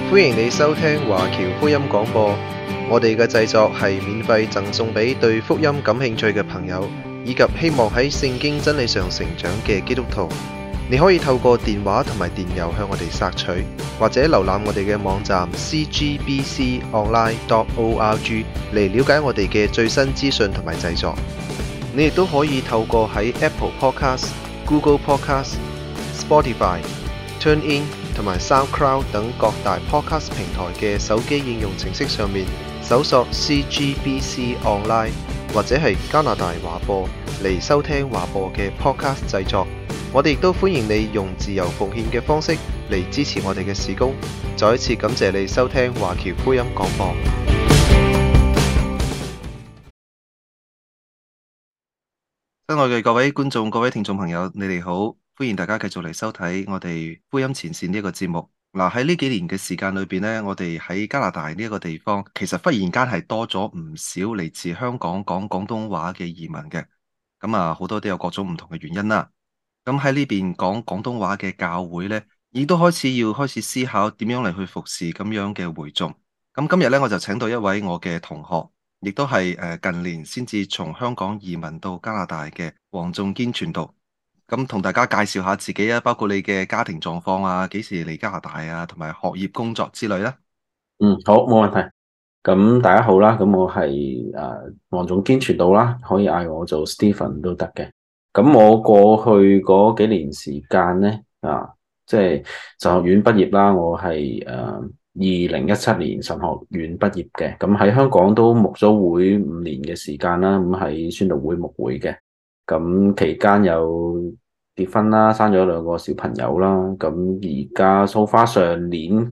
歡迎你收聽華僑福音廣播。我哋嘅製作係免費贈送俾對福音感興趣嘅朋友，以及希望喺聖經真理上成長嘅基督徒。你可以透過電話同埋電郵向我哋索取，或者瀏覽我哋嘅網站 cgbconline.org 嚟了解我哋嘅最新資訊同埋製作。你亦都可以透過喺 Apple Podcast、Google Podcast、Spotify、TuneIn 同埋 SoundCloud 等各大 Podcast 平台嘅手機應用程式上面搜索 CGBC Online 或者係加拿大華播嚟收聽華播嘅 Podcast 製作。我哋亦都歡迎你用自由奉獻嘅方式嚟支持我哋嘅事工。再一次感謝你收聽華僑福音廣播。親愛嘅各位觀眾、各位聽眾朋友，你哋好，歡迎大家繼續嚟收睇我哋福音前線呢一個節目。嗱，喺呢幾年嘅時間裏邊呢，我哋喺加拿大呢一個地方，其實忽然間係多咗唔少嚟自香港講廣東話嘅移民嘅。咁啊，好多都有各種唔同嘅原因啦。咁喺呢邊講廣東話嘅教會呢，亦都開始思考點樣嚟去服侍咁樣嘅會眾。咁今日呢，我就請到一位我嘅同學，亦都係近年先至從香港移民到加拿大嘅黃仲堅傳道。咁同大家介紹下自己啊，包括你嘅家庭狀況啊，幾時嚟加拿大啊，同埋學業工作之類啦。 好，冇問題。咁大家好啦，咁我係黃仲堅傳道啦，可以嗌我做 Stephen 都得嘅。咁我過去嗰幾年時間咧，即係神學院畢業啦。我係2017年神學院畢業嘅。咁喺香港都牧咗會5年嘅時間啦。咁喺宣道會牧會嘅。咁期間有結婚啦，生咗2個小朋友啦。咁而家so far上年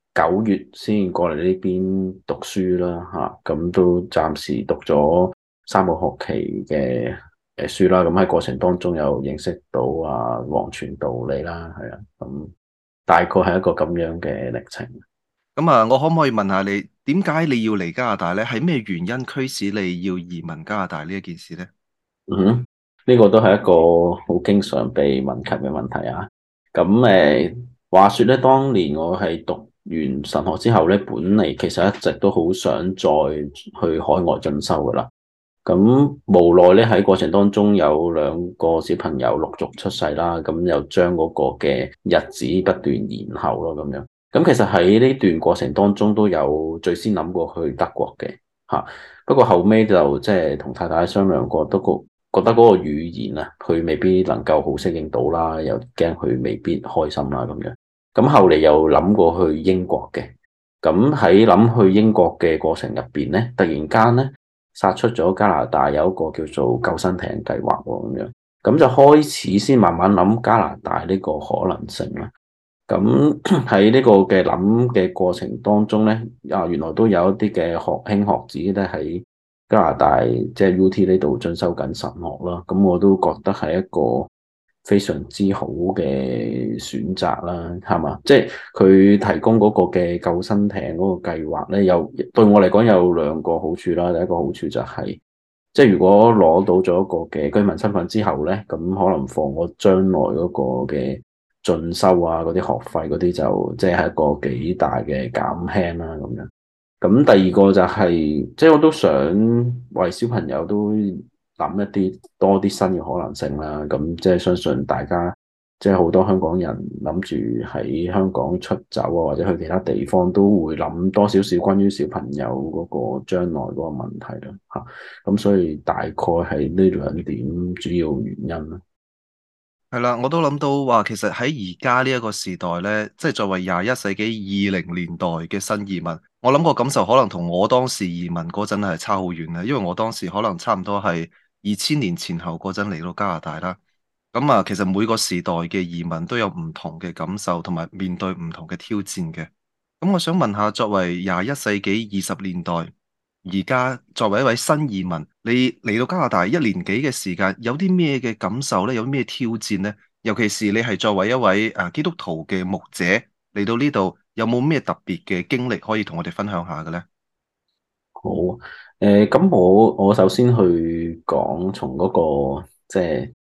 9月先過嚟呢邊讀書啦，咁都暫時讀咗3個學期嘅書啦。咁喺過程當中有認識到黃傳道你啦，係啊，咁大概係一個咁樣嘅歷程。 咁啊，我可唔可以問下你，點解你要嚟加拿大呢？係咩原因驅使你要移民加拿大呢一件事呢？ 呢個都係一個好經常被問及嘅問題啊。咁話說咧，當年我係讀完神學之後咧，本嚟其實一直都好想再去海外進修噶啦。咁無奈咧，喺過程當中有2個小朋友陸續出世啦，咁又將嗰個嘅日子不斷延後咯，咁樣。咁其實喺呢段過程當中都有最先諗過去德國嘅，不過後尾就即係同太太商量過，都覺得嗰個語言啊，佢未必能夠好適應到啦，又驚佢未必開心啦，咁樣。咁後嚟又諗過去英國嘅。咁喺諗去英國嘅過程入邊咧，突然間咧殺出咗加拿大有一個叫做救生艇計劃喎，咁樣。咁就開始先慢慢諗加拿大呢個可能性啦。咁喺呢個嘅諗嘅過程當中咧，原來都有一啲嘅學兄學子咧喺加拿大即係 UT 呢度進修緊神學啦。咁我都覺得係一個非常之好嘅選擇啦，係嘛？即係佢提供嗰個嘅救生艇嗰個計劃咧，對我嚟講有2個好處啦。第一個好處就係，即係如果攞到咗一個嘅居民身份之後咧，咁可能放我將來嗰個嘅進修嗰啲學費嗰啲就即係一個幾大嘅減輕啦，咁樣。咁第二個就係，即係我都想為小朋友都諗一啲多啲新嘅可能性啦。咁即係相信大家即係好多香港人諗住喺香港出走或者去其他地方都會諗多少少關於小朋友嗰個將來嗰個問題啦。咁所以大概係呢2點主要原因啦。 係啦，我都諗到話，其實喺而家呢一個時代呢，即係作為21世紀20年代嘅新移民，我諗個感受可能同我當時移民嗰陣係差好遠嘅，因為我當時可能差唔多係2000年前後嗰陣嚟到加拿大啦。咁其實每個時代嘅移民都有唔同嘅感受，同埋面對唔同嘅挑戰嘅。咁我想問下，作為21世紀20年代，而家作為一位新移民，你嚟到加拿大1年幾嘅時間，有啲咩嘅感受呢？有啲咩挑戰呢？尤其是你係作為一位基督徒嘅牧者嚟到呢度，有冇咩特別嘅經歷可以同我哋分享下嘅呢？ 好，咁我首先去講從嗰個即係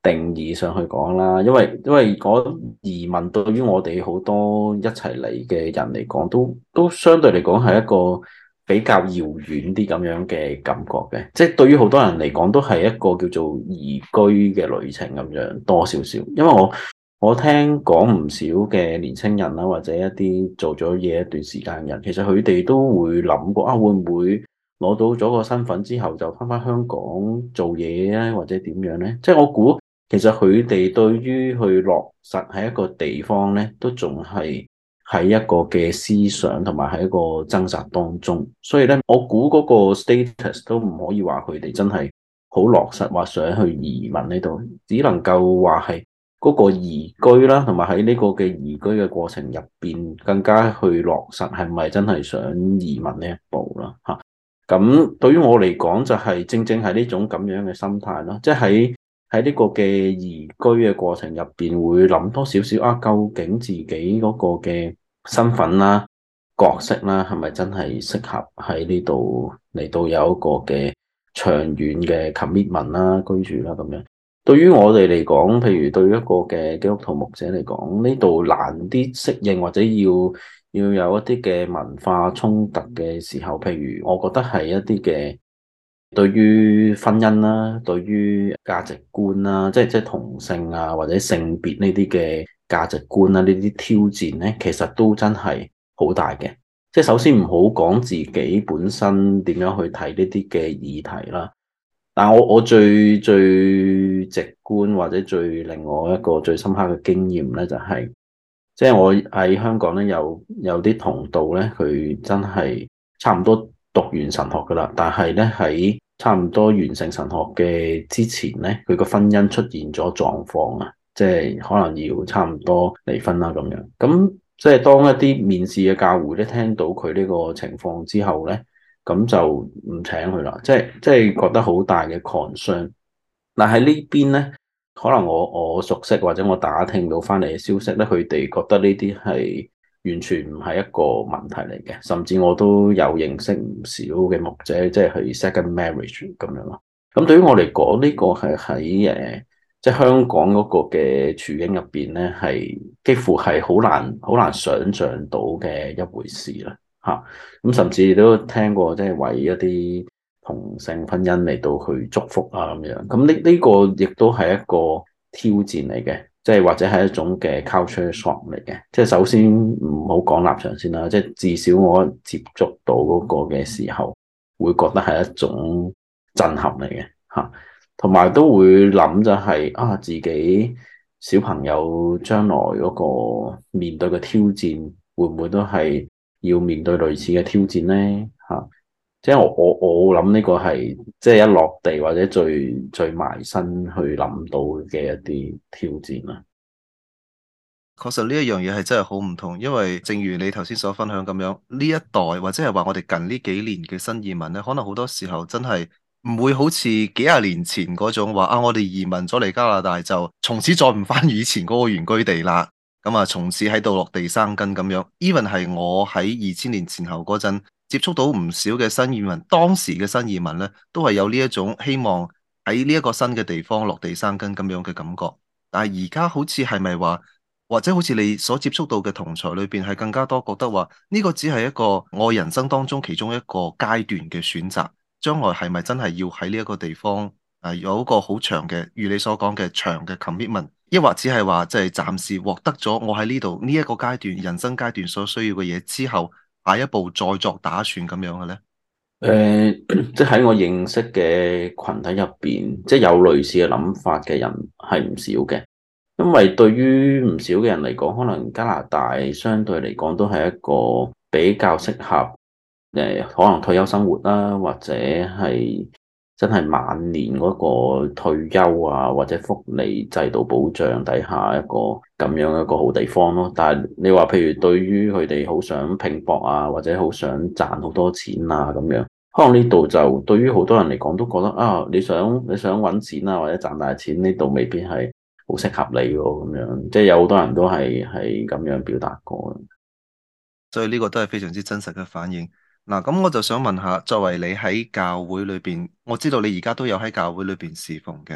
定義上去講啦，因為嗰移民對於我哋好多一齊嚟嘅人嚟講，都相對嚟講係一個比較遙遠啲咁樣嘅感覺嘅，即係對於好多人嚟講都係一個叫做移居嘅旅程咁樣多少少。因為我聽講唔少嘅年青人啦，或者一啲做咗嘢一段時間嘅人，其實佢哋都會諗過啊，會唔會攞到咗個身份之後就翻香港做嘢咧，或者點樣咧？即係我估。其實佢哋對於去落實喺一個地方咧，都仲係喺一個嘅思想同埋喺一個掙扎當中，所以咧，我估嗰個 status 都唔可以話佢哋真係好落實，話想去移民呢度，只能夠話係嗰個移居啦，同埋喺呢個嘅移居嘅過程入邊，更加去落實係咪真係想移民呢一步啦？嚇，咁對於我嚟講，就係正正係呢種咁樣嘅心態咯，即係喺呢個嘅移居嘅過程入邊，會諗多少少啊？究竟自己嗰個嘅身份啦、角色啦，係咪真係適合喺呢度嚟到有一個嘅長遠嘅 commitment 啦、居住啦咁樣？對於我哋嚟講，譬如對於一個嘅基督徒牧者嚟講，呢度難啲適應，或者要有一啲嘅文化衝突嘅時候，譬如我覺得係一啲嘅。對於婚姻啦，對於價值觀啦，即係同性啊或者性別呢啲嘅價值觀啦，呢啲挑戰咧，其實都真係好大嘅。即係首先唔好講自己本身點樣去睇呢啲嘅議題啦，但我最直觀或者最令我一個最深刻嘅經驗咧，就係即係我喺香港咧有啲同道咧，佢真係差唔多讀完神學噶啦，但係咧喺差唔多完成神學嘅之前咧，佢個婚姻出現咗狀況啊，即係可能要差唔多離婚啦咁樣。咁即係當一啲面試嘅教會咧聽到佢呢個情況之後咧，咁就唔請佢啦，即係覺得好大嘅 concern。但喺呢邊咧，可能我熟悉或者我打聽到翻嚟嘅消息咧，佢哋覺得呢啲係完全唔係一個問題嚟嘅，甚至我都有認識唔少嘅牧者，即係去 second marriage 咁樣咯。咁對於我嚟講，呢個係喺即係香港嗰個嘅處境入邊咧，係幾乎係好難想像到嘅一回事啦。嚇，咁甚至都聽過，即係為一啲同性婚姻嚟到去祝福啊咁樣。咁呢個亦都係一個挑戰嚟嘅。即係或者係一種嘅 culture shock 嚟嘅，即係首先唔好講立場先啦，即係至少我接觸到嗰個嘅時候，會覺得係一種震撼嚟嘅嚇，同埋都會諗就係啊，自己小朋友將來嗰個面對嘅挑戰，會唔會都係要面對類似嘅挑戰呢？嚇？即係我諗呢個係即係一落地或者最埋身去諗到嘅一啲挑戰啦。 確實呢一樣嘢係真係好唔同，因為正如你頭先所分享咁樣，呢一代或者係話我哋近呢幾年嘅新移民咧，可能好多時候真係唔會好似幾廿年前嗰種話啊，我哋移民咗嚟加拿大就從此再唔翻以前嗰個原居地啦，咁啊從此喺度落地生根咁樣。even 係我喺2000年前後嗰陣接觸到唔少嘅新移民，當時嘅新移民咧都係有呢一種希望喺呢一個新嘅地方落地生根咁樣嘅感覺。但係而家好似係咪話？或者好似你所接觸到嘅同儕裏邊，係更加多覺得話呢個只係一個我人生當中其中一個階段嘅選擇，將來係咪真係要喺呢一個地方有一個好長嘅，如你所講嘅長嘅 commitment，抑或只係話即係暫時獲得咗我喺呢度呢一個階段人生階段所需要嘅嘢之後，下一步再作打算咁樣嘅咧？ 即係喺我認識嘅群體入邊，即係有類似嘅諗法嘅人係唔少嘅。因為對於唔少嘅人嚟講，可能加拿大相對嚟講都係一個比較適合可能退休生活啦，或者係真係晚年嗰個退休啊，或者福利制度保障底下一個咁樣一個好地方咯。但係你話譬如對於佢哋好想拼搏啊，或者好想賺好多錢啊咁樣，可能呢度就對於好多人嚟講都覺得啊，你想揾錢啊，或者賺大錢，呢度未必係好適合你喎，咁樣即係有好多人都係咁樣表達過。 所以呢個都係非常之真實嘅反應。嗱，咁我就想問下，作為你喺教會裏邊，我知道你而家都有喺教會裏邊侍奉嘅。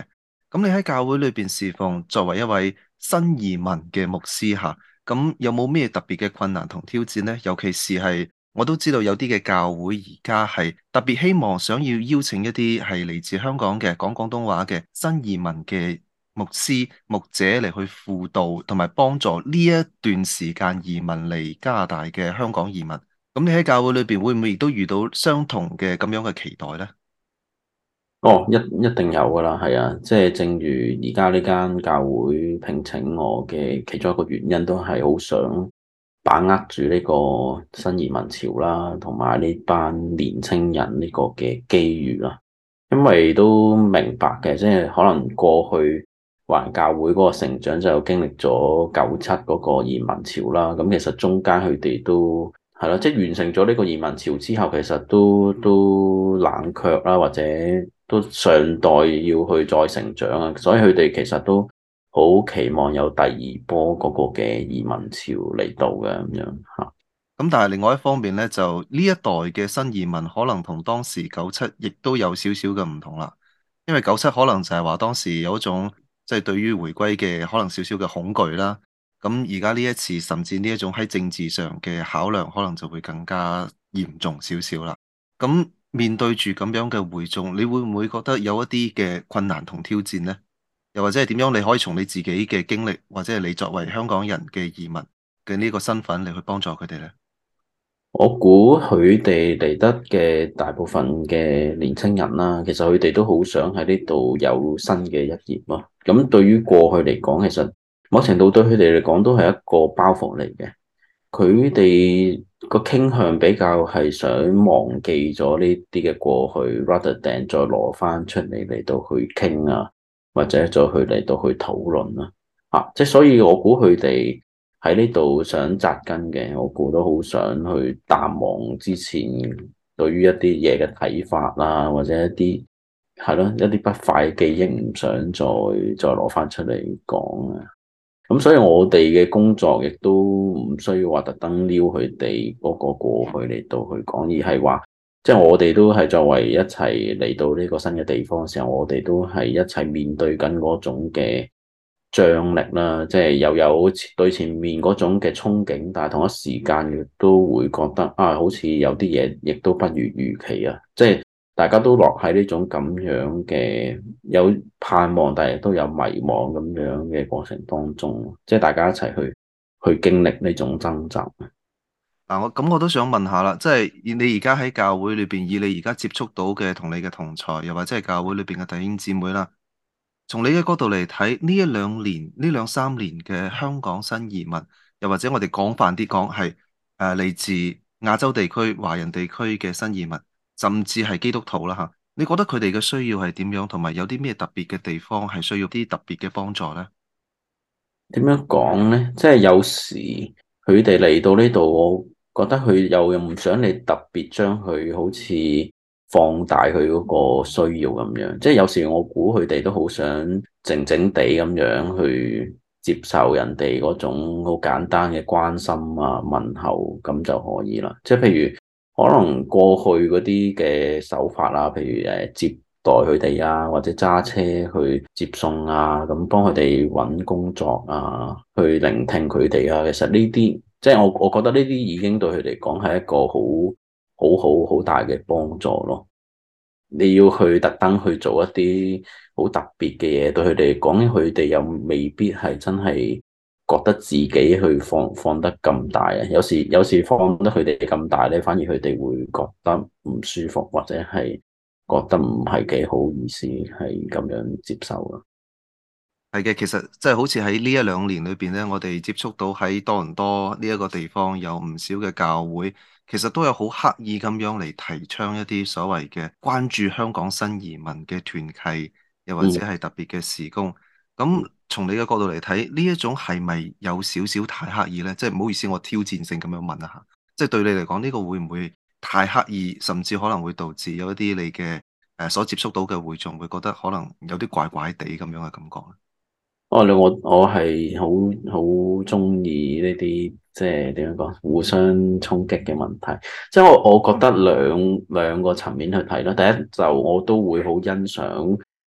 咁你喺教會裏邊侍奉，作為一位新移民嘅牧師吓，咁有冇咩特別嘅困難同挑戰呢？尤其是係我都知道有啲嘅教會而家係特別希望想要邀請一啲係嚟自香港嘅講廣東話嘅新移民嘅牧師牧者嚟去輔導同埋幫助呢一段時間移民嚟加拿大嘅香港移民。咁你喺教會裏邊會唔會亦都遇到相同嘅咁樣嘅期待呢？ 哦，一定有噶啦，係啊，即係正如而家呢間教會聘請我嘅其中一個原因，都係好想把握住呢個新移民潮啦，同埋呢班年青人呢個嘅機遇啦。因為都明白嘅，即係可能過去華人教會嗰個成長就經歷咗97嗰個移民潮啦。咁其實中間佢哋都係咯，即係完成咗呢個移民潮之後，其實都冷卻啦，或者都尚待要去再成長啊。所以佢哋其實都好期望有第二波嗰個嘅移民潮嚟到嘅咁樣吓。 咁但係另外一方面咧，就呢一代嘅新移民可能同當時97亦都有少少嘅唔同啦。因為97可能就係話當時有一種即係對於回歸嘅可能少少嘅恐懼啦。咁而家呢一次甚至呢一種喺政治上嘅考量，可能就會更加嚴重少少啦。咁面對住咁樣嘅會眾，你會唔會覺得有一啲嘅困難同挑戰呢？又或者係點樣？你可以從你自己嘅經歷，或者係你作為香港人嘅移民嘅呢個身份嚟去幫助佢哋呢？ 我估佢哋嚟得嘅大部分嘅年青人啦，其實佢哋都好想喺呢度有新嘅一頁咯。咁對於過去嚟講，其實某程度對佢哋嚟講都係一個包袱嚟嘅。佢哋個傾向比較係想忘記咗呢啲嘅過去，rather than 再攞翻出嚟到去傾啊，或者再去嚟到去討論啦。即係所以我估佢哋喺呢度想扎根嘅，我估都好想去淡忘之前對於一啲嘢嘅睇法啦，或者一啲係咯一啲不快嘅記憶，唔想再攞翻出嚟講啊。咁所以我哋嘅工作亦都唔需要話特登撩佢哋嗰個過去嚟到去講，而係話即係我哋都係作為一齊嚟到呢個新嘅地方嘅時候，我哋都係一齊面對緊嗰種嘅張力啦，即係又有對前面嗰種嘅憧憬，但係同一時間亦都會覺得啊，好似有啲嘢亦都不如預期啊，即係大家都落喺呢種咁樣嘅有盼望，但係都有迷茫咁樣嘅過程當中，即係大家一齊去經歷呢種掙扎。 嗱，我都想問下啦，即係以你而家喺教會裏邊，以你而家接觸到嘅同你嘅同儕，又或者係教會裏邊嘅弟兄姊妹啦，從你嘅角度嚟睇，呢一兩年、呢兩三年嘅香港新移民，又或者我哋廣泛啲講係嚟自亞洲地區、華人地區嘅新移民，甚至係基督徒啦嚇，你覺得佢哋嘅需要係點樣，同埋有啲咩特別嘅地方係需要啲特別嘅幫助呢？ 點樣講呢？即係有時佢哋嚟到呢度，我覺得佢又唔想你特別將佢好似放大佢嗰個需要咁樣。即係有時我估佢哋都好想靜靜地咁樣去接受人哋嗰種好簡單嘅關心啊、問候咁就可以啦。即係譬如可能過去嗰啲嘅手法啊，譬如接待佢哋啊，或者揸車去接送啊，咁幫佢哋揾工作啊，去聆聽佢哋啊。其實呢啲即係我覺得呢啲已經對佢嚟講係一個好大嘅幫助咯。你要去特登去做一啲好特別嘅嘢，對佢哋嚟講，佢哋又未必係真係覺得自己去放得咁大啊。有時放得佢哋咁大咧，反而佢哋會覺得唔舒服，或者係覺得唔係幾好意思，係咁樣接受咯。 係嘅，其實即係好似喺呢一兩年裏邊咧，我哋接觸到喺多倫多呢一個地方有唔少嘅教會，其實都有好刻意咁樣嚟提倡一啲所謂嘅關注香港新移民嘅團契，又或者嗯。 係特別嘅事工。咁從你嘅角度嚟睇，呢一種係咪有少少太刻意呢？即係唔好意思，我挑戰性咁樣問一下，即係對你嚟講，呢個會唔會太刻意，甚至可能會導致有一啲你嘅所接觸到嘅會眾會覺得可能有啲怪怪地咁樣嘅感覺？ 我係好中意呢啲即係點樣講互相衝擊嘅問題，即係我覺得兩個層面去睇啦。第一就我都會好欣賞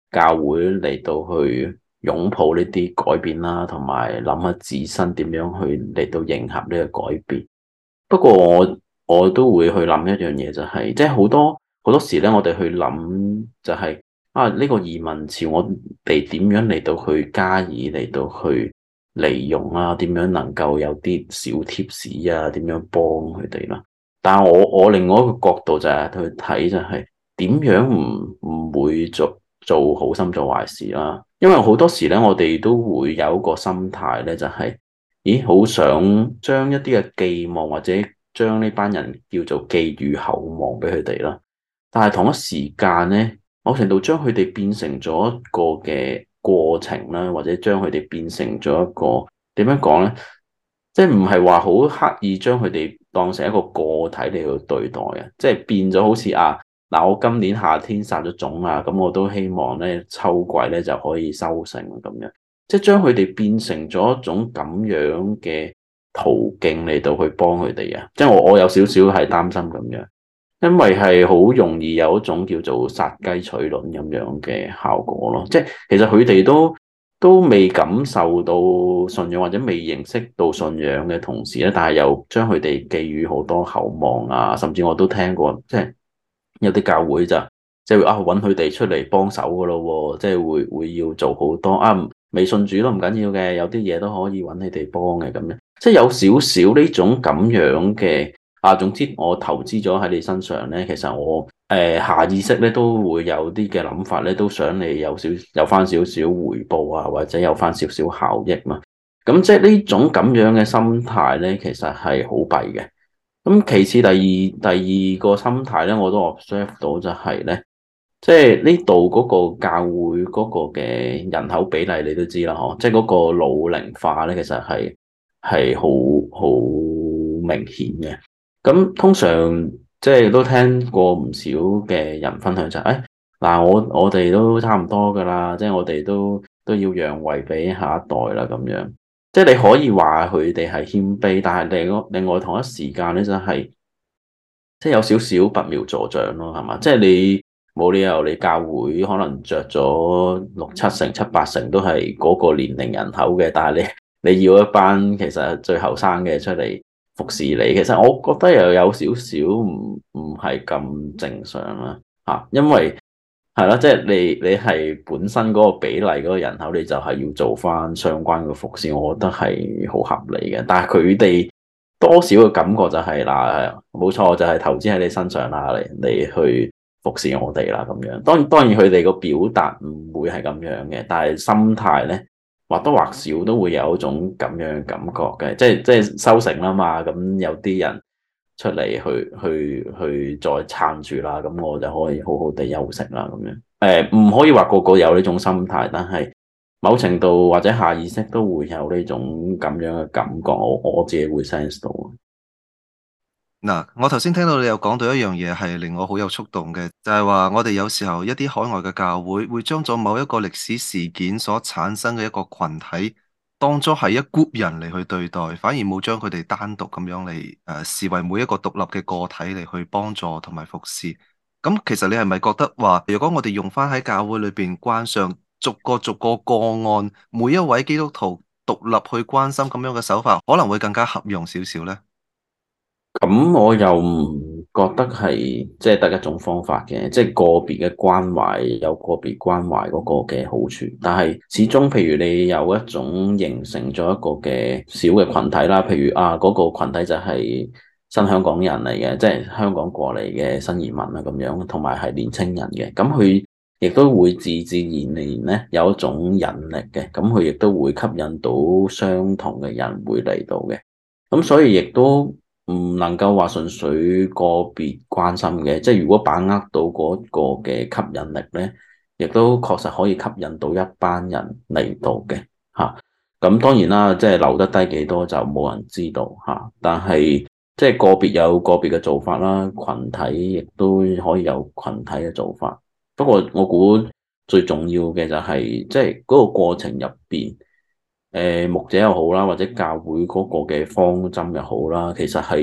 教會嚟到去擁抱呢啲改變啦，同埋諗下自身點樣去嚟到迎合呢個改變。不過我都會去諗一樣嘢，就係即係好多時咧，我哋去諗就係啊呢個移民潮，我哋點樣嚟到去加以嚟到去利用啊？點樣能夠有啲小貼士啊？點樣幫佢哋啦？但係我另外一個角度就係去睇就係點樣唔會做好心做壞事啦。因為好多時咧，我哋都會有一個心態咧，就係咦，好想將一啲嘅寄望或者將呢班人叫做寄予厚望俾佢哋啦。但係同一時間咧，某程度將佢哋變成咗一個嘅過程啦，或者將佢哋變成咗一個點樣講咧？即係唔係話好刻意將佢哋當成一個個體嚟去對待啊？即係變咗好似嗱，我今年夏天撒咗種啊，咁我都希望咧秋季咧就可以收成咁樣。即係將佢哋變成咗一種咁樣嘅途徑嚟到去幫佢哋啊！即係我有少少係擔心咁樣，因為係好容易有一種叫做殺雞取卵咁樣嘅效果咯。即係其實佢哋都未感受到信仰或者未認識到信仰嘅同時咧，但係又將佢哋寄予好多厚望啊，甚至我都聽過，即係有啲教會就即係揾佢哋出嚟幫手噶咯，即係會要做好多未信主都唔緊要嘅，有啲嘢都可以揾你哋幫嘅咁樣，即係有少少呢種咁樣嘅總之我投資咗喺你身上咧，其實我下意識咧都會有啲嘅諗法咧，都想你有翻少少回報啊，或者有翻少少效益嘛。咁即係呢種咁樣嘅心態咧，其實係好弊嘅。咁其次第二個心態咧，我都 observe 到就係咧。即係呢度嗰個教會嗰個嘅人口比例，你都知啦，嗬！即係嗰個老齡化咧，其實係好明顯嘅。咁通常即係都聽過唔少嘅人分享就係，嗱，我哋都差唔多噶啦，即係我哋都要讓位俾下一代啦，咁樣。即係你可以話佢哋係謙卑，但係另外同一時間咧，就係即係有少少拔苗助長咯，係嘛？即係你。冇理由你教會可能着咗六七成、七八成都係嗰個年齡人口嘅，但係你要一班其實最後生嘅出嚟服侍你，其實我覺得又有少少唔係咁正常啦嚇，因為係啦，即係你係本身嗰個比例嗰個人口，你就係要做翻相關嘅服侍，我覺得係好合理嘅。但係佢哋多少嘅感覺就係嗱，冇錯，就係投資喺你身上啦，你去服侍我哋啦，咁樣，當然佢哋個表達唔會係咁樣嘅，但係心態咧或多或少都會有一種咁樣嘅感覺嘅，即係收成啦嘛，咁有啲人出嚟去再撐住啦，咁我就可以好好地休息啦，咁樣，唔可以話個個有呢種心態，但係某程度或者下意識都會有呢種咁樣嘅感覺，我自己會 sense 到。 嗱，我頭先聽到你有講到一樣嘢係令我好有觸動嘅，就係話我哋有時候一啲海外嘅教會會將咗某一個歷史事件所產生嘅一個群體當作係一 group 人嚟去對待，反而冇將佢哋單獨咁樣嚟視為每一個獨立嘅個體嚟去幫助同埋服侍。咁其實你係咪覺得話，如果我哋用翻喺教會裏邊關上逐個個案，每一位基督徒獨立去關心咁樣嘅手法，可能會更加合用少少呢？ 咁我又唔覺得係即係得一種方法嘅，即係個別嘅關懷有個別關懷嗰個嘅好處，但係始終譬如你有一種形成咗一個嘅小嘅群體啦，譬如嗰個群體就係新香港人嚟嘅，即係香港過嚟嘅新移民啊咁樣，同埋係年青人嘅，咁佢亦都會自然咧有一種引力嘅，咁佢亦都會吸引到相同嘅人會嚟到嘅，咁所以亦都唔能夠話純粹個別關心嘅，即係如果把握到嗰個嘅吸引力咧，亦都確實可以吸引到一班人嚟到嘅嚇。咁當然啦，即係留得低幾多就冇人知道嚇。但係即係個別有個別嘅做法啦，群體亦都可以有群體嘅做法。不過我估最重要嘅就係即係嗰個過程入邊。牧者又好啦，或者教會嗰個嘅方針又好啦，其實係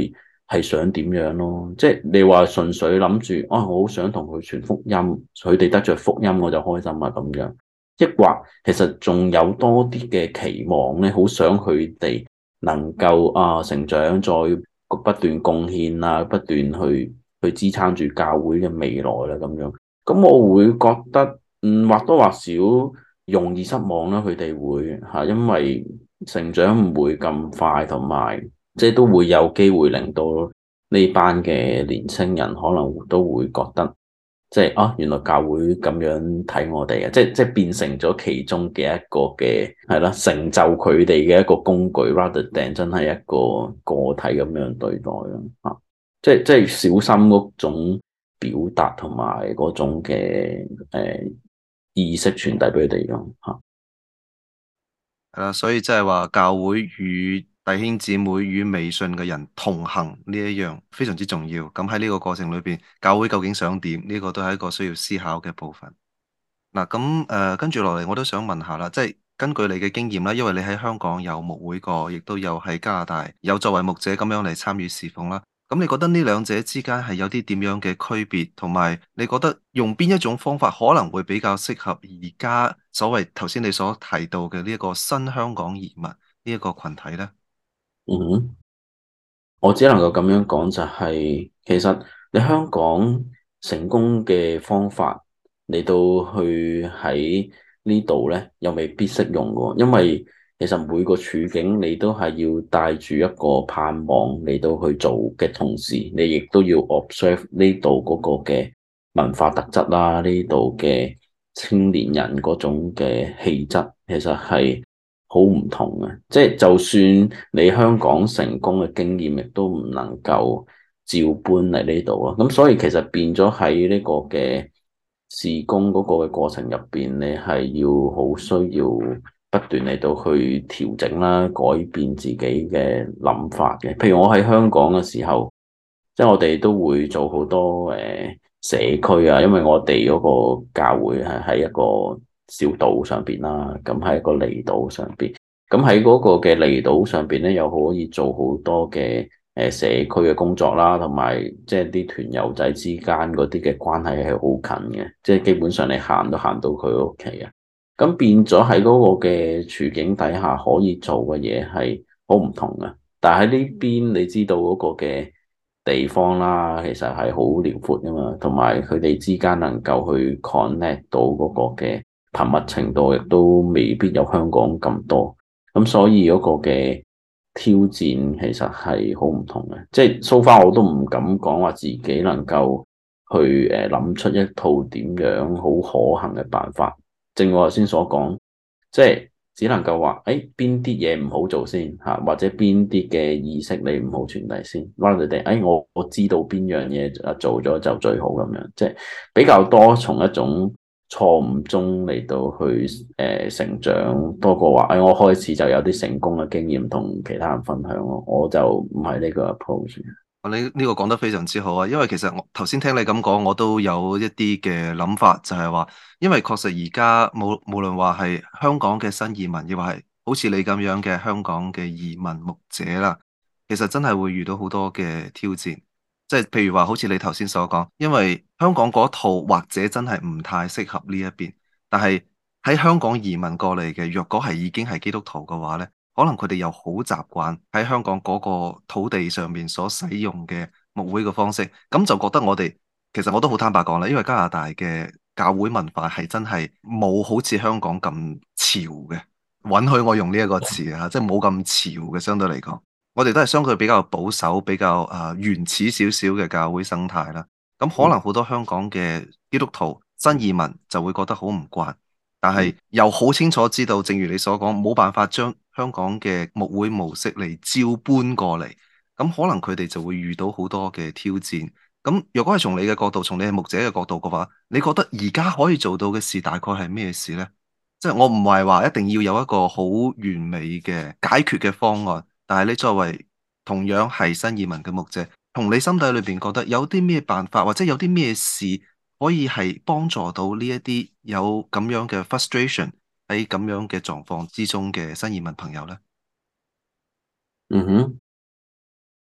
係想點樣咯。即係你話純粹諗住啊，我好想同佢傳福音，佢哋得着福音我就開心啊咁樣。抑或其實仲有多啲嘅期望咧，好想佢哋能夠成長，再不斷貢獻啊，不斷去支撐住教會嘅未來啦咁樣。咁我會覺得或多或少容易失望啦，佢哋會嚇，因為成長唔會咁快，同埋即係都會有機會令到呢班嘅年青人可能都會覺得。即係原來教會咁樣睇我哋嘅，即係變成咗其中嘅一個嘅係啦，成就佢哋嘅一個工具，rather than 真係一個個體咁樣對待咯嚇。即係小心嗰種表達同埋嗰種嘅意識傳遞俾佢哋咯嚇。 係啦，所以即係話教會與弟兄姊妹與未信嘅人同行呢一樣非常之重要。咁喺呢個過程裏邊，教會究竟想點？呢個都係一個需要思考嘅部分。嗱，咁跟住落嚟，我都想問下啦，即係根據你嘅經驗啦，因為你喺香港有牧會過，亦都有喺加拿大有作為牧者咁樣嚟參與侍奉啦。咁你覺得呢兩者之間係有啲點樣嘅區別，同埋你覺得用邊一種方法可能會比較適合而家所謂頭先你所提到嘅呢一個新香港移民呢一個群體呢？ 嗯哼。我只能夠咁樣講，就係其實你香港成功嘅方法嚟到去喺呢度咧，又未必適用嘅，因為其實每個處境你都係要帶住一個盼望嚟到去做嘅同時，你亦都要 observe 呢度嗰個嘅文化特質啦，呢度嘅青年人嗰種嘅氣質，其實係好唔同嘅，即係就算你香港成功嘅經驗，亦都唔能夠照搬嚟呢度咯。咁所以其實變咗喺呢個嘅事工嗰個嘅過程入邊，你係要好需要不斷嚟到去調整啦，改變自己嘅諗法嘅。譬如我喺香港嘅時候，即係我哋都會做好多社區啊，因為我哋嗰個教會係喺一個小島上邊啦，咁喺一個離島上邊，咁喺嗰個嘅離島上邊咧，又可以做好多嘅社區嘅工作啦，同埋即係啲團友仔之間嗰啲嘅關係係好近嘅，即係基本上你行都行到佢屋企啊，咁變咗喺嗰個嘅處境底下可以做嘅嘢係好唔同嘅，但係喺呢邊你知道嗰個嘅地方啦，其實係好遼闊噶嘛，同埋佢哋之間能夠去 connect 到嗰個嘅頻密程度，亦都未必有香港咁多。咁所以嗰個嘅挑戰其實係好唔同嘅。即係 so far 我都唔敢講話自己能夠去諗出一套點樣好可行嘅辦法。正如我頭先所講，即係。只能夠話，邊啲嘢唔好做先嚇，或者邊啲嘅意識你唔好傳遞先。rather than 我知道邊樣嘢做咗就最好咁樣，即係比較多從一種錯誤中嚟到去成長，多過話我開始就有啲成功嘅經驗同其他人分享咯。我就唔係呢個 approach。 你呢個講得非常之好啊，因為其實我頭先聽你咁講，我都有一啲嘅諗法，就係話，因為確實而家無論話係香港嘅新移民，亦或係好似你咁樣嘅香港嘅移民牧者啦，其實真係會遇到好多嘅挑戰，即係譬如話好似你頭先所講，因為香港嗰套或者真係唔太適合呢一邊，但係喺香港移民過嚟嘅，若果係已經係基督徒嘅話咧。可能佢哋又好習慣喺香港嗰個土地上面所使用嘅牧會嘅方式，咁就覺得我哋其實我都好坦白講啦，因為加拿大嘅教會文化係真係冇好似香港咁潮嘅，允許我用呢一個詞啊，即係冇咁潮嘅相對嚟講，我哋都係相對比較保守、比較原始少少嘅教會生態啦。咁可能好多香港嘅基督徒新移民就會覺得好唔慣。但係又好清楚知道，正如你所講，冇辦法將香港嘅牧會模式嚟照搬過嚟，咁可能佢哋就會遇到好多嘅挑戰。咁若果係從你嘅角度，從你係牧者嘅角度嘅話，你覺得而家可以做到嘅事大概係咩事呢？即係我唔係話一定要有一個好完美嘅解決嘅方案，但係你作為同樣係新移民嘅牧者，同你心底裏邊覺得有啲咩辦法，或者有啲咩事？可以係幫助到呢一啲有咁樣嘅 frustration 喺咁樣嘅狀況之中嘅新移民朋友呢？ 嗯哼。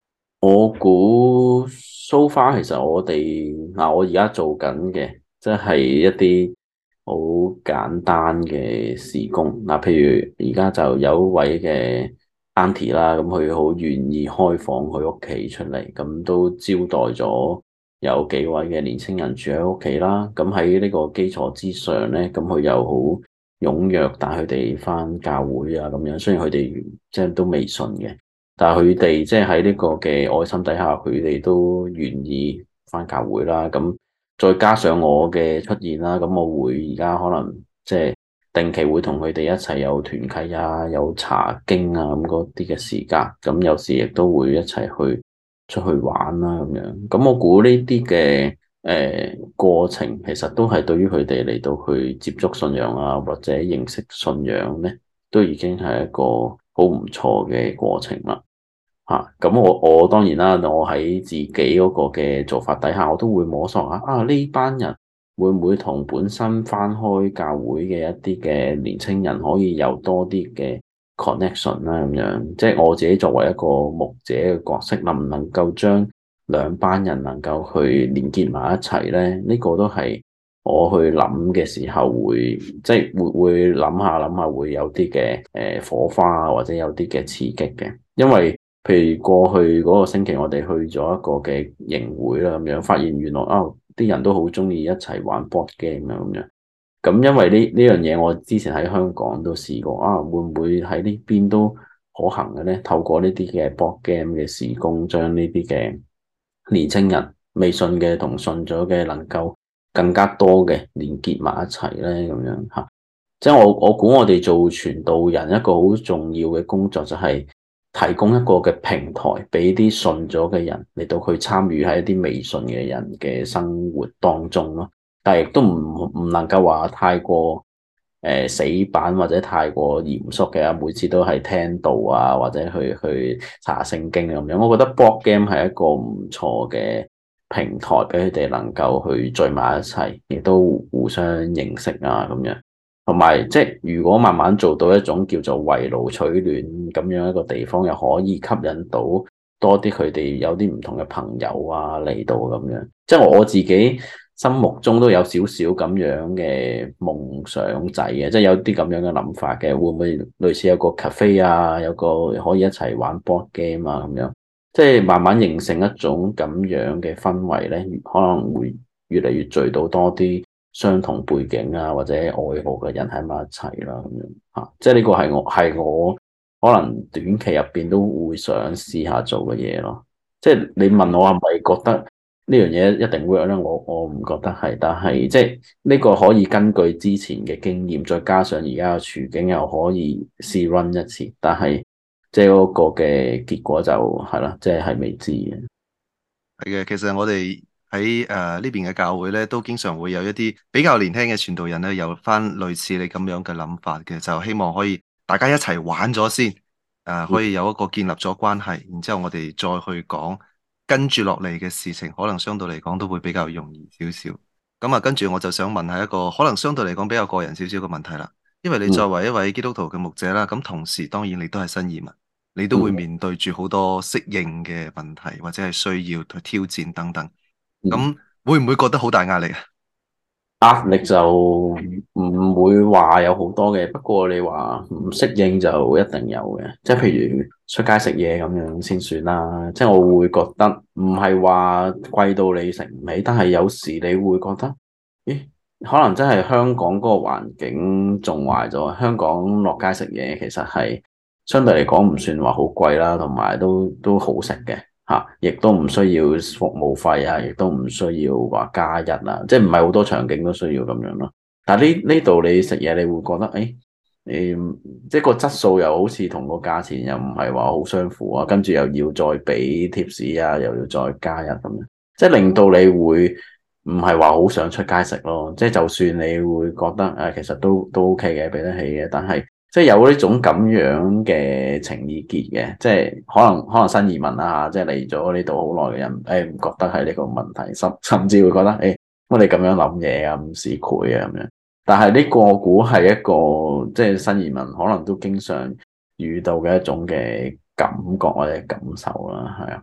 我估 so far 其實我哋我而家做緊嘅，即係一啲好簡單嘅事工。譬如而家就有一位嘅 auntie 啦，咁佢好願意開放佢屋企出嚟，咁都招待咗有幾位嘅年青人住喺屋企啦。咁喺呢個基礎之上咧，咁佢又好踴躍帶佢哋返教會啊，咁樣。雖然佢哋即係都未信嘅。但係佢哋即係喺呢個嘅愛心底下，佢哋都願意返教會啦。咁再加上我嘅出現啦，咁我會而家可能即係定期會同佢哋一齊有團契啊，有查經啊咁嗰啲嘅時間。咁有時亦都會一齊去出去玩啦咁樣。咁我估呢啲嘅過程，其實都係對於佢哋嚟到去接觸信仰啊，或者認識信仰咧，都已經係一個好唔錯嘅過程啦。咁我當然啦，我喺自己嗰個嘅做法底下，我都會摸索下呢班人會唔會同本身返開教會嘅一啲嘅年青人可以有多啲嘅 connection 啦，咁樣即係我自己作為一個牧者嘅角色，能唔能夠將兩班人能夠去連結埋一齊咧？呢個都係我去諗嘅時候會即係會諗下會有啲嘅火花或者有啲嘅刺激嘅，因為譬如過去嗰個星期，我哋去咗一個嘅營會啦，咁樣發現原來啲人都好中意一齊玩 board game 啊，咁樣。咁因為呢樣嘢，我之前喺香港都試過會唔會喺呢邊都可行嘅咧？透過呢啲嘅 board game 嘅事工，將呢啲嘅年青人未信嘅同信咗嘅，能夠更加多嘅連結埋一齊咧，咁樣吓。即係我估我哋做傳道人一個好重要嘅工作就係提供一個嘅平台俾啲信咗嘅人嚟到去參與喺一啲未信嘅人嘅生活當中咯，但係亦都唔能夠話太過死板或者太過嚴肅嘅，每次都係聽道啊或者去查聖經咁樣。我覺得 board game 係一個唔錯嘅平台俾佢哋能夠去聚埋一齊，亦都互相認識啊咁樣。同埋即係如果慢慢做到一種叫做圍爐取暖咁樣一個地方，又可以吸引到多啲佢哋有啲唔同嘅朋友啊嚟到咁樣。即係我自己心目中都有少少咁樣嘅夢想仔嘅，即係有啲咁樣嘅諗法嘅。會唔會類似有個 cafe 啊，有個可以一齊玩 board game 啊咁樣？即係慢慢形成一種咁樣嘅氛圍咧，可能會越嚟越聚到多啲相同背景啊，或者愛好嘅人喺埋一齊啦，咁樣吓，即係呢個係我可能短期入邊都會想試下做嘅嘢咯。即係你問我係咪覺得呢樣嘢一定 work 咧？我唔覺得係，但係即係呢個可以根據之前嘅經驗，再加上而家嘅處境，又可以試 run 一次。但係即係嗰個嘅結果就係啦，即係未知嘅。 係嘅，其實我哋喺呢邊嘅教會咧，都經常會有一啲比較年輕嘅傳道人咧，有翻類似你咁樣嘅諗法嘅，就希望可以大家一齊玩咗先，可以有一個建立咗關係，然之後我哋再去講跟住落嚟嘅事情，可能相對嚟講都會比較容易少少。咁啊，跟住我就想問下一個可能相對嚟講比較個人少少嘅問題啦，因為你作為一位基督徒嘅牧者啦，咁同時當然你都係新移民。你都會嗯面對住好多適應嘅問題，或者係需要去挑戰等等。 嗯。 咁會唔會覺得好大壓力啊？ 壓力就唔會話有好多嘅，不過你話唔適應就一定有嘅，即係譬如出街食嘢咁樣先算啦。即係我會覺得唔係話貴到你食唔起，但係有時你會覺得，咦，可能真係香港嗰個環境仲壞咗。香港落街食嘢其實係相對嚟講唔算話好貴啦，同埋都好食嘅。亦都唔需要服務費啊，亦都唔需要話加一啊，即係唔係好多場景都需要咁樣咯。但係呢度你食嘢，你會覺得即係個質素又好似同個價錢又唔係話好相符啊，跟住又要再俾貼士啊，又要再加一咁樣，即係令到你會唔係話好想出街食咯。即係就算你會覺得其實都 OK 嘅，俾得起嘅，但係，即係有呢種咁樣嘅情意結嘅，即係可能新移民啦嚇，即係嚟咗呢度好耐嘅人，唔覺得係呢個問題，甚至會覺得乜你咁樣諗嘢啊，咁市儈啊咁樣。但係呢個我估係一個即係新移民可能都經常遇到嘅一種嘅感覺或者感受啦，係啊。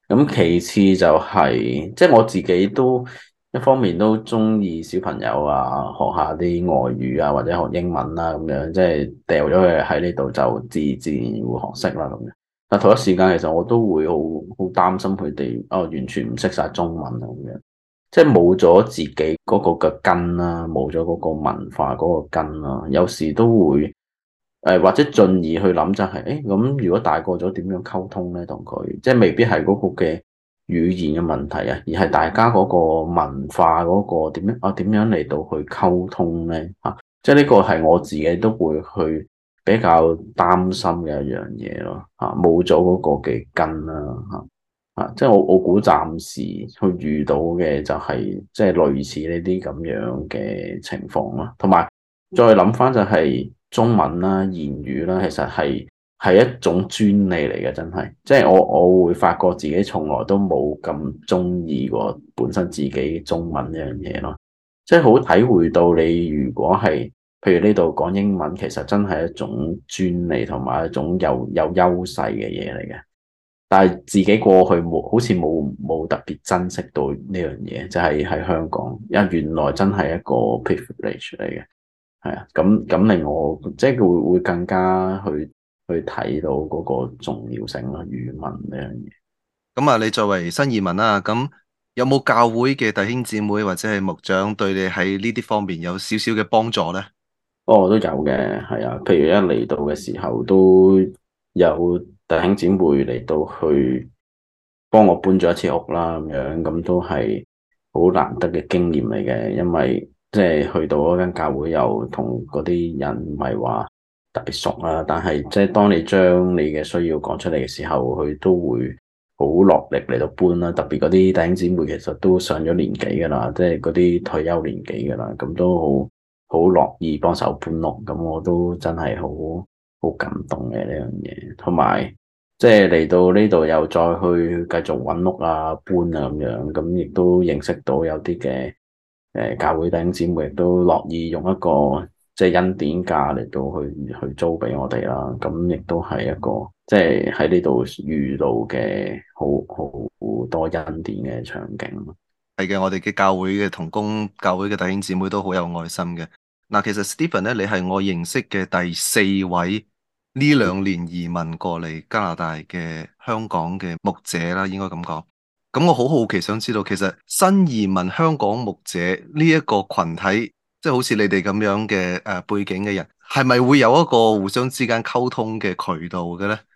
咁其次就係，即係我自己都一方面都中意小朋友啊，學下啲外語啊，或者學英文啦咁樣，即係掉咗佢喺呢度就自然會學識啦咁樣。但同一時間，其實我都會好擔心佢哋完全唔識晒中文啊咁樣，即係冇咗自己嗰個嘅根啦，冇咗嗰個文化嗰個根啦，有時都會。或者進而去諗就係，咁如果大個咗點樣溝通咧？同佢即係未必係嗰個嘅語言嘅問題啊，而係大家嗰個文化嗰個點樣嚟到去溝通咧？即係呢個係我自己都會去比較擔心嘅一樣嘢咯。冇咗嗰個嘅根啦，即係我估暫時去遇到嘅就係即係類似呢啲咁樣嘅情況咯，同埋再諗翻就係。中文啦、言語啦，其實係一種專利嚟嘅，真係。即係我會發覺自己從來都冇咁中意過本身自己中文呢樣嘢咯。即係好體會到你如果係，譬如呢度講英文，其實真係一種專利同埋一種有優勢嘅嘢嚟嘅。但係自己過去好似冇特別珍惜到呢樣嘢，就係喺香港，因為原來真係一個 privilege 嚟嘅。係啊，咁令我即係會更加去睇到嗰個重要性咯，語文呢樣嘢。 咁啊，你作為新移民啦，咁有冇教會嘅弟兄姊妹或者係牧長對你喺呢啲方面有少少嘅幫助呢？ 哦，都有嘅，係啊，譬如一嚟到嘅時候，都有弟兄姊妹嚟到去幫我搬咗一次屋啦，咁樣咁都係好難得嘅經驗嚟嘅，因為即係去到嗰間教會又同嗰啲人唔係話特別熟啦，但係即係當你將你嘅需要講出嚟嘅時候，佢都會好落力嚟到搬啦，特別嗰啲弟兄姊妹其實都上咗年紀噶啦，即係嗰啲退休年紀噶啦，咁都好樂意幫手搬屋，咁我都真係好感動嘅呢樣嘢，同埋即係嚟到呢度又再去繼續揾屋啊搬啊咁樣，咁亦都認識到有啲嘅教會弟兄姊妹亦都樂意用一個即係恩典價嚟到去租俾我哋啦，咁亦都係一個即係喺呢度遇到嘅好多恩典嘅場景。 係嘅，我哋嘅教會嘅同工、教會嘅弟兄姊妹都好有愛心嘅。嗱，其實 Stephen 咧，你係我認識嘅第4位呢2年移民過嚟加拿大嘅香港嘅牧者啦，應該咁講。咁我好好奇想知道，其實新移民香港牧者呢一個群體，即係好似你哋咁樣嘅背景嘅人，係咪會有一個互相之間溝通嘅渠道嘅咧？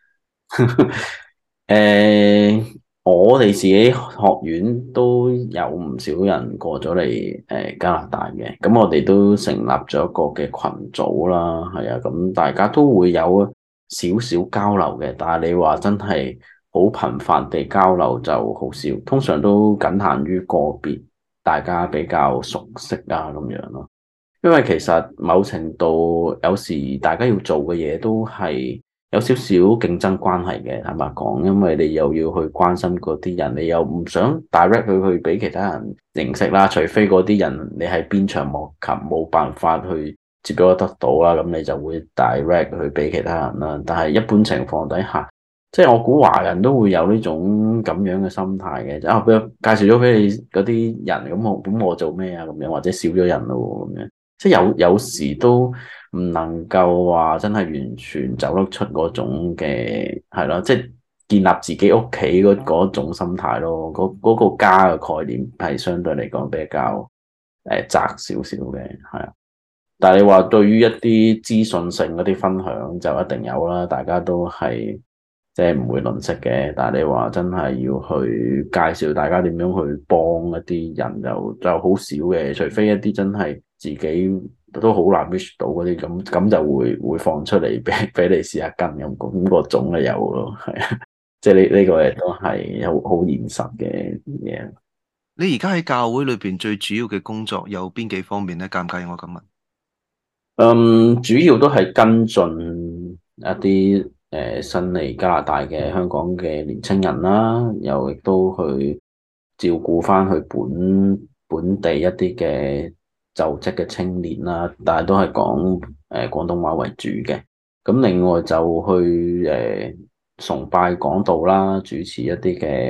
我哋自己學院都有唔少人過咗嚟加拿大嘅，咁我哋都成立咗一個嘅群組啦，係啊，咁大家都會有少少交流嘅，但係你話真係好頻繁地交流就好少，通常都僅限於個別大家比較熟悉啊咁樣咯。因為其實某程度有時大家要做嘅嘢都係有少少競爭關係嘅，坦白講，因為你又要去關心嗰啲人，你又唔想 direct 佢去俾其他人認識啦，除非嗰啲人你喺邊場莫及冇辦法去接觸得到啦，咁你就會 direct 去俾其他人啦。但係一般情況底下，即係我估華人都會有呢種咁樣嘅心態嘅，俾我介紹咗俾你嗰啲人，咁我做咩啊？咁樣或者少咗人咯咁樣。即係有時都唔能夠話真係完全走得出嗰種嘅係咯，即係建立自己屋企嗰種心態咯。嗰個家嘅概念係相對嚟講比較窄少少嘅，係啊。但係你話對於一啲資訊性嗰啲分享就一定有啦，大家都係即係唔會吝嗇嘅。但係你話真係要去介紹大家點樣去幫一啲人就好少嘅，除非一啲真係自己都好難 reach 到嗰啲咁就會放出嚟俾你試下跟咁個種就有咯，係啊，即係呢個亦都係好現實嘅嘢。 你而家喺教會裏邊最主要嘅工作有邊幾方面咧？介唔介意我咁問？ 主要都係跟進一啲新嚟加拿大嘅香港嘅年青人啦，又亦都去照顧翻去本地一啲嘅就職嘅青年啦，但係都係講廣東話為主嘅。咁另外就去崇拜講道啦，主持一啲嘅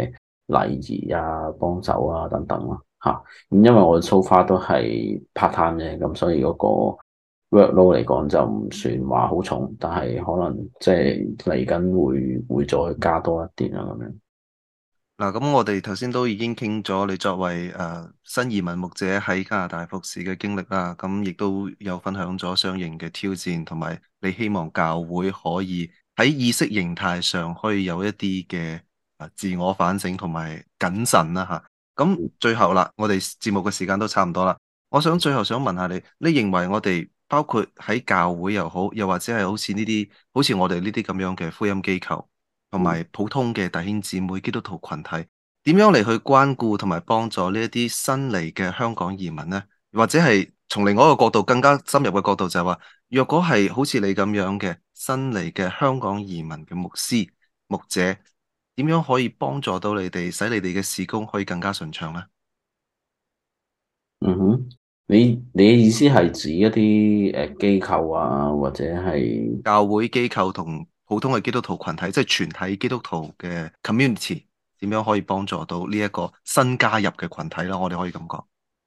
禮儀啊、幫手啊等等咯嚇。咁因為我 so far 都係 part time 啫，咁所以嗰個 workload 嚟講就唔算話好重，但係可能即係嚟緊會再加多一啲啊咁樣。 嗱，咁我哋頭先都已經傾咗你作為新移民牧者喺加拿大服侍嘅經歷啦，咁亦都有分享咗相應嘅挑戰，同埋你希望教會可以喺意識形態上可以有一啲嘅自我反省同埋謹慎啦吓。咁最後啦，我哋節目嘅時間都差唔多啦，我想最後想問下你，你認為我哋包括喺教會又好，又或者係好似呢啲好似我哋呢啲咁樣嘅福音機構，同埋普通嘅弟兄姊妹基督徒群體，點樣嚟去關顧同埋幫助呢一啲新嚟嘅香港移民呢？或者係從另外一個角度更加深入嘅角度就係話，若果係好似你咁樣嘅新嚟嘅香港移民嘅牧師牧者，點樣可以幫助到你哋，使你哋嘅事工可以更加順暢呢？ 嗯哼，你嘅意思係指一啲機構啊，或者係教會機構同普通嘅基督徒群體，即係全體基督徒嘅 community，點樣可以幫助到呢一個新加入嘅群體啦？我哋可以咁講。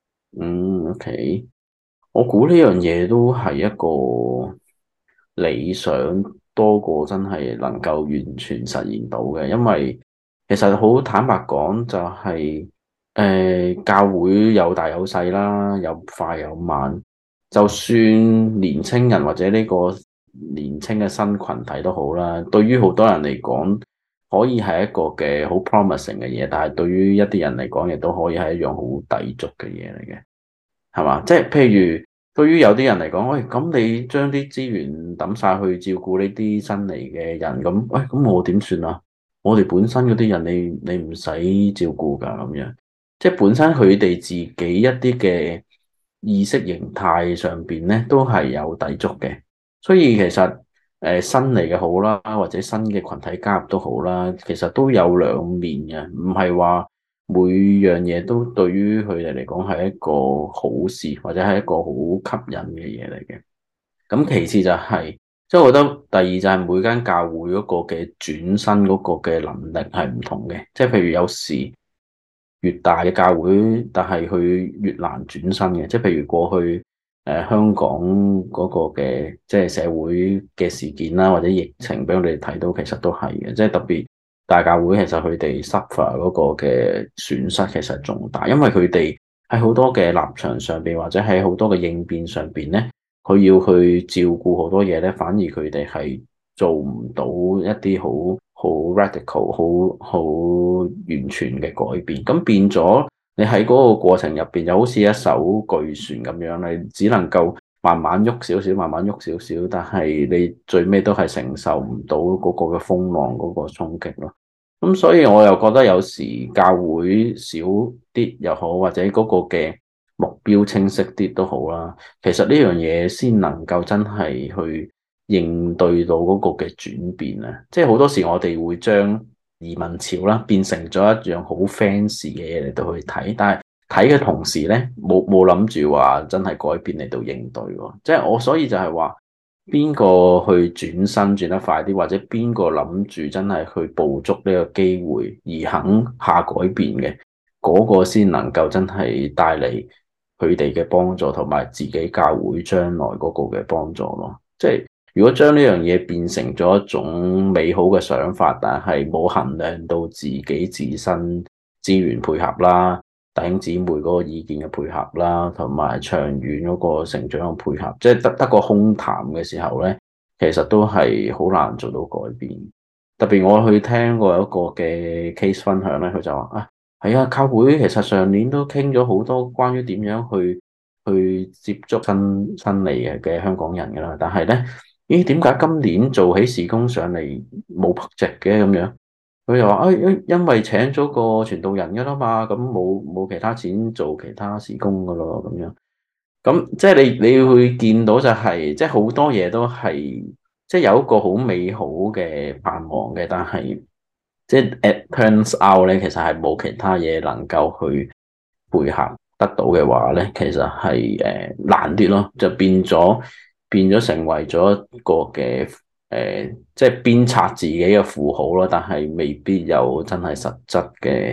OK，我估呢樣嘢都係一個理想多過真係能夠完全實現到嘅，因為其實好坦白講就係教會有大有細啦，有快有慢，就算年青人或者呢個年青嘅新群體都好啦，對於好多人嚟講可以係一個嘅好 promising 嘅嘢，但係對於一啲人嚟講亦都可以係一樣好抵觸嘅嘢嚟嘅。係嘛？即係譬如，對於有啲人嚟講，喂，咁你將啲資源抌晒去照顧呢啲新嚟嘅人，咁，喂，咁我點算啊？我哋本身嗰啲人你唔使照顧㗎，咁樣，即係本身佢哋自己一啲嘅意識形態上邊咧，都係有抵觸嘅。所以其實新嚟嘅好啦，或者新嘅群體加入都好啦，其實都有兩面嘅，唔係話每樣嘢都對於佢哋嚟講係一個好事，或者係一個好吸引嘅嘢嚟嘅。咁其次就係，即係我覺得第二就係每間教會嗰個嘅轉身嗰個嘅能力係唔同嘅，即係譬如有時越大嘅教會，但係佢越難轉身嘅，即係譬如過去香港嗰個嘅即係社會嘅事件啦，或者疫情俾我哋睇到，其實都係嘅，即係特別大教會其實佢哋 suffer 嗰個嘅損失其實仲大，因為佢哋喺好多嘅立場上邊，或者喺好多嘅應變上邊咧，佢要去照顧好多嘢咧，反而佢哋係做唔到一啲好 radical、好完全嘅改變。咁變咗，你喺嗰個過程入邊，就好似一艘巨船咁樣，你只能夠慢慢喐少少，慢慢喐少少，但係你最尾都係承受唔到嗰個嘅風浪嗰個衝擊咯。咁所以我又覺得有時教會少啲又好，或者嗰個嘅目標清晰啲都好啦。其實呢樣嘢先能夠真係去應對到嗰個嘅轉變啊！即係好多時我哋會將移民潮啦變成咗一樣好 fancy 嘅嘢嚟到去睇，但係睇嘅同時咧，冇諗住話真係改變嚟到應對喎。即係我所以就係話，邊個去轉身轉得快啲，或者邊個諗住真係去捕捉呢個機會而肯下改變嘅，嗰個先能夠真係帶嚟佢哋嘅幫助，同埋自己教會將來嗰個嘅幫助咯。即係如果將呢樣嘢變成咗一種美好嘅想法，但係冇衡量到自己自身資源配合啦，弟兄姊妹嗰個意見嘅配合啦，同埋長遠嗰個成長嘅配合，即係得個空談嘅時候咧，其實都係好難做到改變。特別我去聽過一個嘅 case 分享咧，佢就話啊，係啊，教會其實上年都傾咗好多關於點樣去接觸新嚟嘅香港人噶啦，但係咧，咦，點解今年做起事工上嚟冇筆值嘅咁樣？佢又話啊，因為請咗個傳道人噶啦嘛，咁冇其他錢做其他事工噶咯，咁樣。咁即係你會見到就係，即係好多嘢都係，即係有一個好美好嘅盼望嘅，但係即係 it turns out 咧，其實係冇其他嘢能夠去配合得到嘅話咧，其實係難啲咯，就變咗成為咗一個嘅即係鞭策自己嘅符號咯，但係未必有真係實質嘅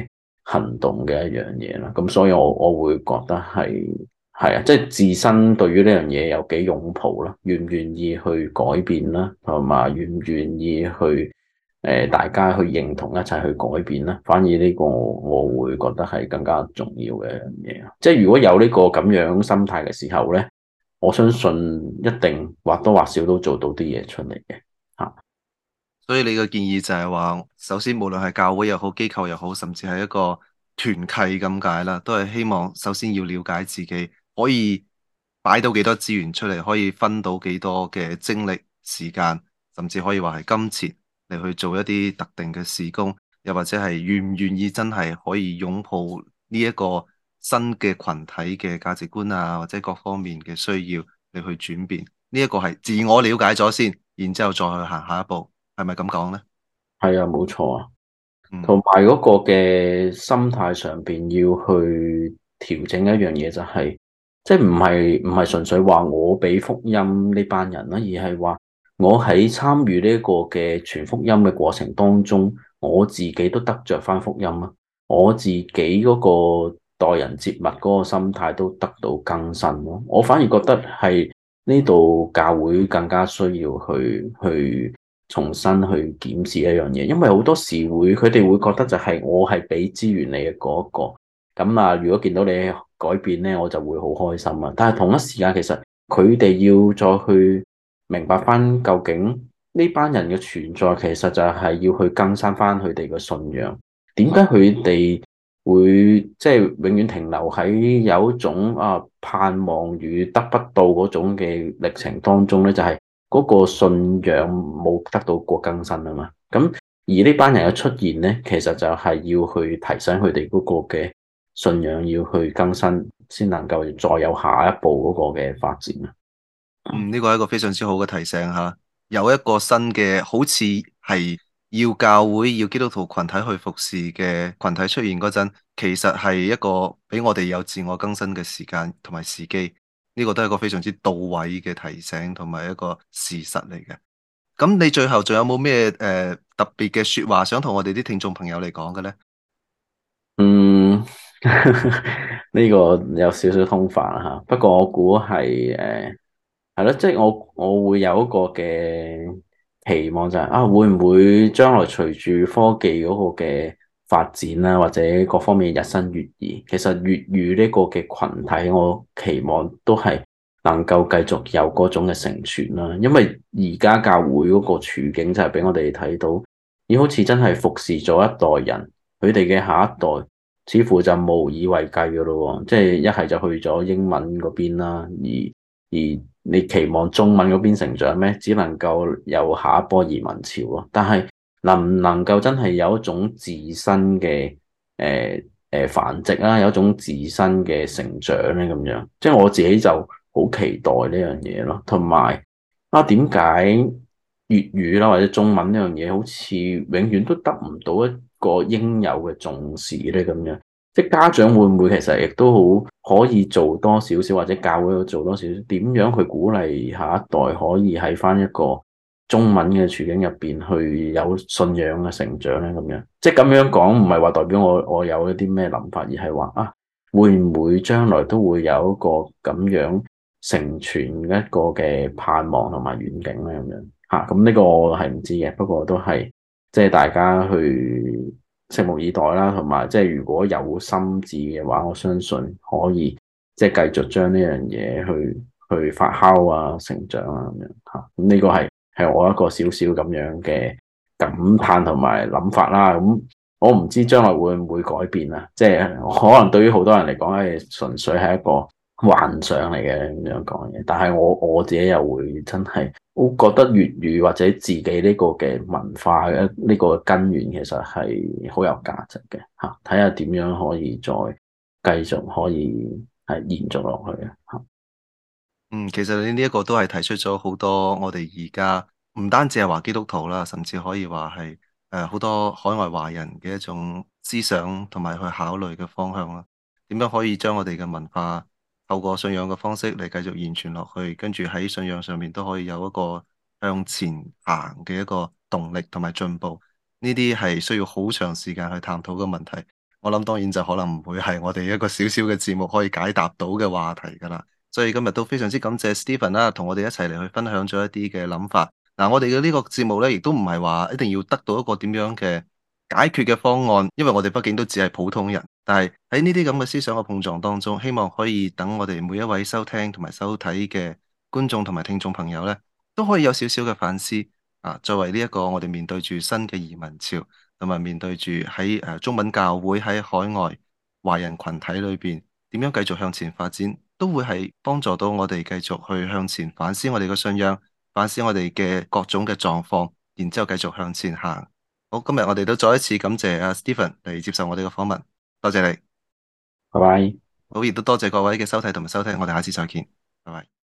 行動嘅一樣嘢啦。咁所以我會覺得係啊，即係自身對於呢樣嘢有幾擁抱啦，願唔願意去改變啦，同埋願唔願意去大家去認同一齊去改變啦。反而呢個我會覺得係更加重要嘅一樣嘢。即係如果有呢個咁樣心態嘅時候咧，我相信一定或多或少都做到啲嘢出嚟嘅嚇。 所以你嘅建議就係話，首先無論係教會又好、機構又好，甚至係一個團契咁解啦，都係希望首先要了解自己可以擺到幾多資源出嚟，可以分到幾多嘅精力、時間，甚至可以話係金錢嚟去做一啲特定嘅事工，又或者係願唔願意真係可以擁抱呢一個新嘅群體嘅價值觀啊，或者各方面嘅需要嚟去轉變。呢一個係自我了解咗先，然之後再去行下一步。係咪咁講呢？ 係啊，冇錯啊。同嗯， 埋嗰個嘅心態上邊要去調整一樣嘢，就係即係唔係純粹話我俾福音呢班人啦，而係話我喺參與呢一個嘅傳福音嘅過程當中，我自己都得着翻福音啊，我自己嗰個待人接物嗰個心態都得到更新咯。我反而覺得係呢度教會更加需要去重新去檢視一樣嘢，因為好多時佢哋會覺得就係我係俾資源你嘅嗰一個，咁啊，如果見到你改變咧，我就會好開心啊。但係同一時間，其實佢哋要再去明白翻，究竟呢班人嘅存在，其實就係要去更新翻佢哋嘅信仰。點解佢哋會即係永遠停留喺有一種盼望與得不到嗰種嘅歷程當中咧？就係嗰個信仰冇得到過更新啊嘛，咁而呢班人嘅出現咧，其實就係要去提醒佢哋嗰個嘅信仰要去更新，先能夠再有下一步嗰個嘅發展啊。 嗯，呢個係一個非常之好嘅提醒吓，有一個新嘅好似係要教會要基督徒群體去服侍嘅群體出現嗰陣，其實係一個俾我哋有自我更新嘅時間同埋時機，呢個都係一個非常之到位嘅提醒同埋一個事實嚟嘅。咁你最後仲有冇咩特別嘅說話想同我哋啲聽眾朋友嚟講嘅呢？ 嗯，呢個有少少通泛啦吓，不過我估係咯，即係我會有一個嘅期望就係會唔會將來隨住科技嗰個嘅發展啦，或者各方面日新月異，其實粵語呢個嘅群體，我期望都係能夠繼續有嗰種嘅承傳啦。因為而家教會嗰個處境就係俾我哋睇到，而好似真係服侍咗一代人，佢哋嘅下一代似乎就無以為繼噶咯，即係一係就去咗英文嗰邊啦，而你期望中文嗰邊成長咩？只能夠有下一波移民潮咯。但係能唔能夠真係有一種自身嘅繁殖啦，有一種自身嘅成長咧咁樣？即係我自己就好期待呢樣嘢咯。同埋點解粵語啦或者中文呢樣嘢好似永遠都得唔到一個應有嘅重視咧咁樣？即係家長會唔會其實亦都好可以做多少少，或者教會做多少少，點樣去鼓勵下一代可以喺翻一個中文嘅處境入邊去有信仰嘅成長咧？咁樣即係咁樣講，唔係話代表我有一啲咩諗法，而係話會唔會將來都會有一個咁樣成全一個嘅盼望同埋遠景咧？咁樣嚇，咁呢個我係唔知嘅，不過都係即係大家去拭目以待啦，同埋即係如果有心志嘅話，我相信可以即係繼續將呢樣嘢去發酵啊、成長啊咁樣嚇。咁呢個係我一個少少咁樣嘅感嘆同埋諗法啦。咁我唔知將來會唔會改變啊？即係可能對於好多人嚟講係純粹係一個幻想嚟嘅咁樣講嘢，但係我自己又會真係，我覺得粵語或者自己呢個嘅文化嘅呢個根源其實係好有價值嘅嚇，睇下點樣可以再繼續可以係延續落去啊嚇。 嗯，其實你呢一個都係提出咗好多我哋而家唔單止係話基督徒啦，甚至可以話係好多海外華人嘅一種思想同埋去考慮嘅方向啦。點樣可以將我哋嘅文化透過信仰嘅方式嚟繼續延傳落去，跟住喺信仰上面都可以有一個向前行嘅一個動力同埋進步。呢啲係需要好長時間去探討嘅問題。 我諗當然就可能唔會係我哋一個小小嘅節目可以解答到嘅話題㗎啦。所以今日都非常之感謝 Stephen 啦，同我哋一齊嚟去分享咗一啲嘅諗法。嗱，我哋嘅呢個節目咧，亦都唔係話一定要得到一個點樣嘅解決嘅方案，因為我哋畢竟都只係普通人。但係喺呢啲咁嘅思想嘅碰撞當中，希望可以等我哋每一位收聽同埋收睇嘅觀眾同埋聽眾朋友咧，都可以有少少嘅反思啊。作為呢一個我哋面對住新嘅移民潮，同埋面對住喺中文教會喺海外華人群體裏邊點樣繼續向前發展，都會係幫助到我哋繼續去向前反思我哋嘅信仰，反思我哋嘅各種嘅狀況，然之後繼續向前行。好，今日我哋都再一次感謝阿 Stephen 嚟接受我哋嘅訪問，多謝你。 拜拜。 好，亦都多謝各位嘅收睇同埋收聽，我哋下次再見，拜拜。